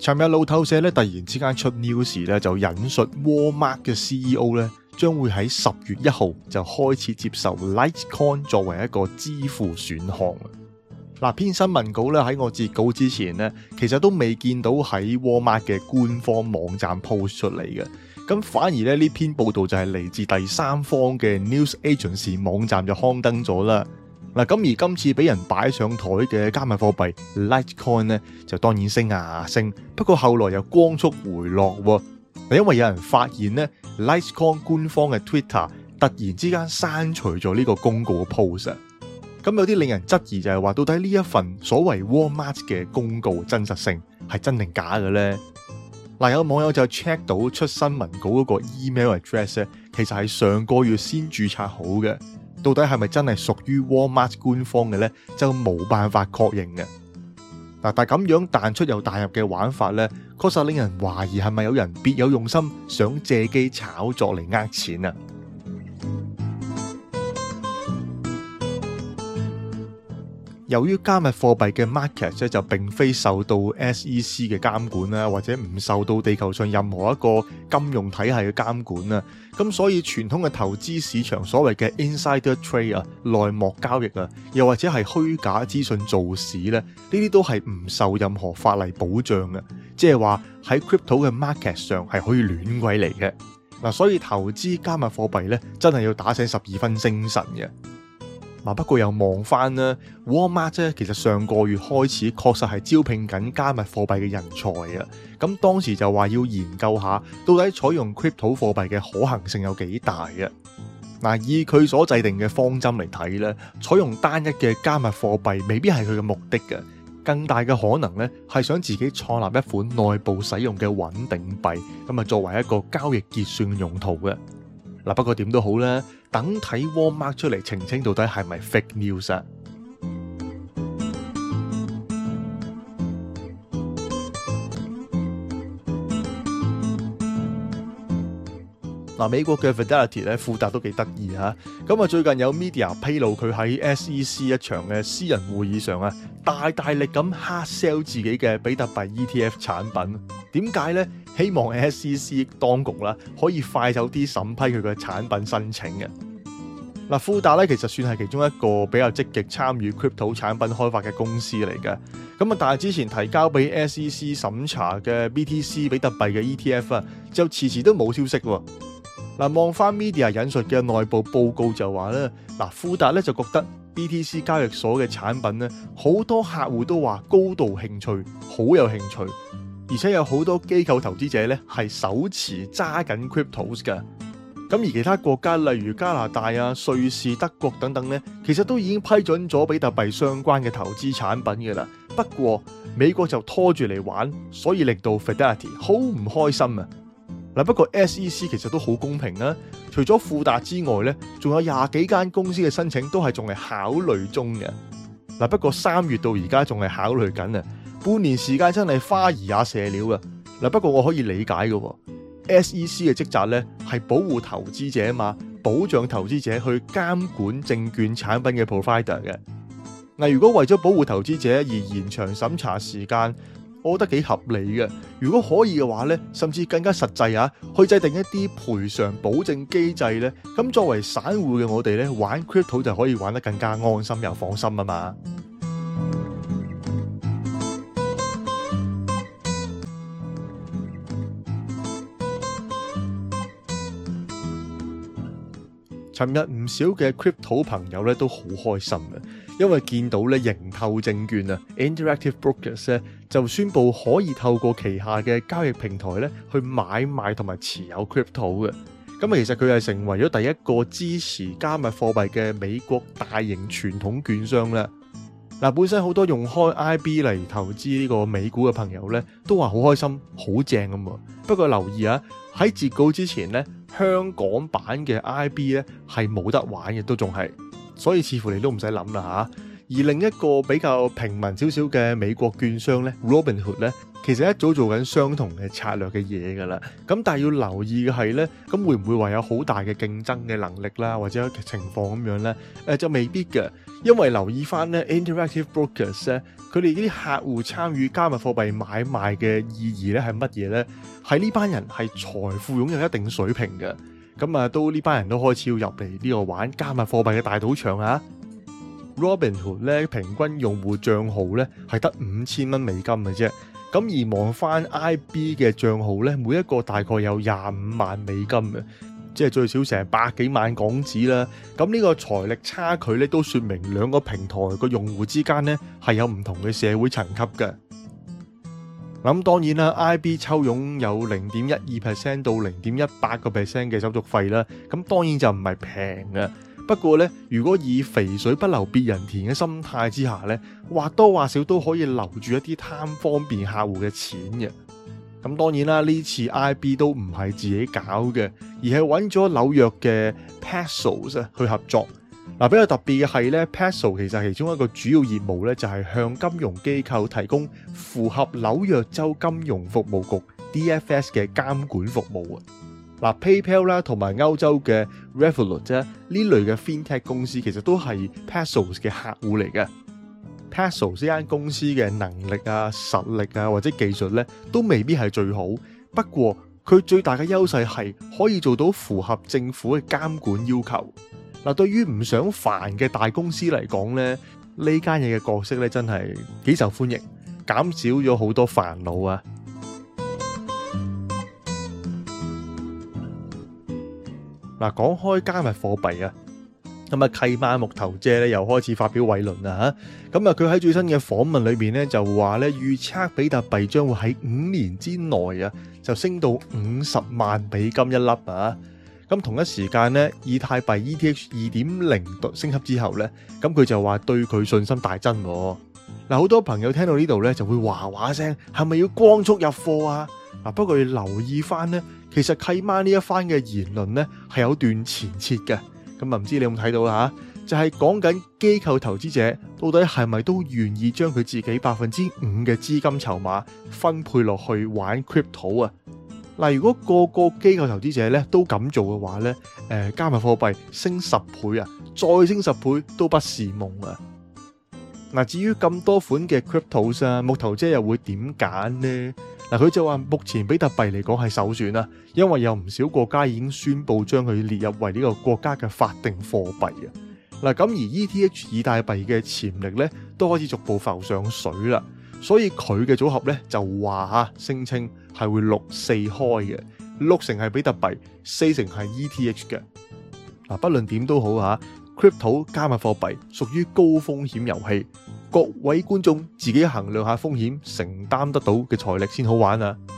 尋日路透社咧突然之間出 news 咧，就引述 Walmart 嘅 CEO 咧，將會喺10月1號就開始接受 Litecoin 作為一個支付選項。嗱，篇新聞稿咧喺我截稿之前咧，其實都未見到喺 Walmart 嘅官方網站 post 出嚟嘅。咁反而咧呢篇報道就係嚟自第三方嘅 News Agency 網站就刊登咗啦。嗱，咁而今次俾人擺上台嘅加密貨幣 Litecoin 咧，就當然升啊升，不過後來又光速回落喎。因為有人發現咧 Litecoin 官方嘅 Twitter 突然之間刪除咗呢個公告嘅 post。咁有啲令人質疑就係話，到底呢一份所謂 Walmart 嘅公告真實性係真定假嘅呢？嗱，有網友就 check 到出新聞稿嗰個 email address 咧，其實係上個月先註冊好嘅，到底係咪真係屬於 Walmart 官方嘅呢？就冇辦法確認嘅。嗱，但係咁樣彈出又彈入嘅玩法呢，確實令人懷疑係咪有人別有用心，想借機炒作嚟呃錢啊！由於加密貨幣嘅 market 咧就並非受到 SEC 嘅監管啦，或者唔受到地球上任何一個金融體系嘅監管啦，咁所以傳統嘅投資市場所謂嘅 insider trade 啊、內幕交易啊，又或者係虛假資訊造市咧，呢啲都係唔受任何法例保障嘅，即係話喺 crypto 嘅 market 上係可以亂鬼嚟嘅。嗱，所以投資加密貨幣咧，真係要打醒12分精神嘅。不過又望翻啦 Walmart 咧，其實上個月開始確實係招聘緊加密貨幣嘅人才啊。咁當時就話要研究下，到底採用 crypto 貨幣嘅可行性有幾大啊？嗱，以佢所制定嘅方針嚟睇咧，採用單一嘅加密貨幣未必係佢嘅目的嘅，更大嘅可能咧係想自己創立一款內部使用嘅穩定幣，咁啊作為一個交易結算用途嘅。嗱，不過點都好啦，等睇 Walmart 出嚟澄清到底係咪 fake news 啊？嗱，美國嘅 Fidelity 咧，富達都幾得意嚇。咁啊，最近有 media 披露佢喺 SEC 一場嘅私人會議上啊，大力咁 hard sell 自己嘅比特幣 ETF 產品。點解呢？希望 SEC 當局啦可以快手啲審批佢嘅產品申請嘅。嗱，富達咧其實算係其中一個比較積極參與 crypto 產品開發嘅公司嚟嘅。咁啊，但係之前提交俾 SEC 審查嘅 BTC 比特幣嘅 ETF 啊，就遲都冇消息喎。嗱，望翻 media 引述嘅內部報告就話咧，嗱，富達咧就覺得 BTC 交易所嘅產品咧，好多客戶都話高度興趣，好有興趣。而且有好多機構投資者咧係手持揸緊 cryptos 嘅，咁而其他國家例如加拿大啊、瑞士、德國等等咧，其實都已經批准咗比特幣相關嘅投資產品嘅啦。不過美國就拖住嚟玩，所以令到 Fidelity 好唔開心啊！嗱，不過 SEC 其實都好公平啊，除咗富達之外咧，仲有20幾間公司嘅申請都係仲係考慮中嘅。嗱，不過3月到而家仲係考慮緊啊。半年時間真係花兒也謝了㗎。不過我可以理解嘅，SEC 嘅職責咧係保護投資者嘛，保障投資者去監管證券產品嘅 provider 嘅。嗱，如果為咗保護投資者而延長審查時間，我覺得幾合理嘅。如果可以嘅話咧，甚至更加實際啊，去制定一啲賠償保證機制咧，咁作為散戶嘅我哋咧，玩 crypto 就可以玩得更加安心又放心啊嘛。尋日唔少嘅 crypto 朋友咧都好開心嘅，因為見到咧盈透證券啊 Interactive Brokers 咧就宣布可以透過旗下嘅交易平台咧去買賣同埋持有 crypto 嘅。咁其實佢係成為咗第一個支持加密貨幣嘅美國大型傳統券商啦。嗱，本身好多用開 IB 嚟投資呢個美股嘅朋友咧都話好開心，好正咁啊。不過留意啊，喺截稿之前咧，香港版嘅 IB 咧係冇得玩嘅，都仲係，所以似乎你都唔使諗啦吓。而另一個比較平民少少嘅美國券商咧 Robinhood 咧， 其實一早做緊相同嘅策略嘅嘢噶啦。咁但係要留意嘅係呢，咁會唔會話有好大嘅競爭嘅能力啦，或者情況咁樣呢？就未必嘅，因為留意翻呢 Interactive Brokers 咧，佢哋啲客戶參與加密貨幣買賣嘅意義咧係乜嘢呢？係呢班人係財富擁有一定水平嘅，咁啊都呢班人都開始要入嚟呢個玩加密貨幣嘅大賭場啊。Robinhood 咧平均用戶賬號咧係得5000蚊美金嘅啫，咁而望翻 IB 嘅賬號咧，每一個大概有25萬美金嘅，即係最少成百幾萬港紙啦。咁呢個財力差距咧都說明兩個平台個用戶之間咧係有唔同嘅社會層級嘅。咁當然啦 ，IB 抽佣有0.12% 到0.18% 嘅手續費啦，咁當然就唔係平嘅。不過咧，如果以肥水不流別人田嘅心態之下咧，或多或少都可以留住一啲貪方便客戶嘅錢嘅。咁當然啦，呢次 IB 都唔係自己搞嘅，而係揾咗紐約嘅 Paxos 去合作。比較特別嘅係咧 Paxos 其實其中一個主要業務咧就係向金融機構提供符合紐約州金融服務局 DFS 嘅監管服務啊。PayPal 啦，同埋歐洲嘅 Revolut 啫，呢類嘅 FinTech 公司其實都係 Paxos 嘅客戶嚟嘅。Paxos 呢間公司嘅能力啊、實力啊或者技術咧，都未必係最好。不過佢最大嘅優勢係可以做到符合政府嘅監管要求。對於唔想煩嘅大公司嚟講咧，呢間嘢嘅角色咧真係幾受歡迎，減少咗好多煩惱啊！講開加密貨幣啊，咁契媽木頭姐咧又開始發表偉論啦吓，咁佢喺最新嘅訪問裏邊咧就話咧預測比特幣將會喺5年之內啊就升到50萬美金一粒啊，咁同一時間咧以太幣 ETH 2.0升級之後咧，咁佢就話對佢信心大增。好多朋友聽到呢度咧就會話話聲，係咪要光速入貨啊？不過要留意翻咧，其實契媽呢一番嘅言論咧係有段前設嘅，咁唔知你有冇睇到啦吓？就係講緊機構投資者到底係咪都願意將佢自己5%嘅資金籌碼分配落去玩 crypto 啊？如果個個機構投資者咧都咁做嘅話咧，加密貨幣升10倍啊，再升10倍都不是夢啊！至於咁多款嘅 cryptos 啊，木頭姐又會點揀呢？佢就話目前比特幣嚟講係首選啦，因為有唔少國家已經宣布將佢列入為呢個國家嘅法定貨幣啊。咁而 ETH 以太幣嘅潛力咧都開始逐步浮上水啦，所以佢嘅組合咧就話聲稱係會6-4開嘅，6成係比特幣，4成係 ETH 嘅。不論點都好，crypto 加密貨幣屬於高風險遊戲。各位觀眾自己衡量下風險，承擔得到嘅財力先好玩啊！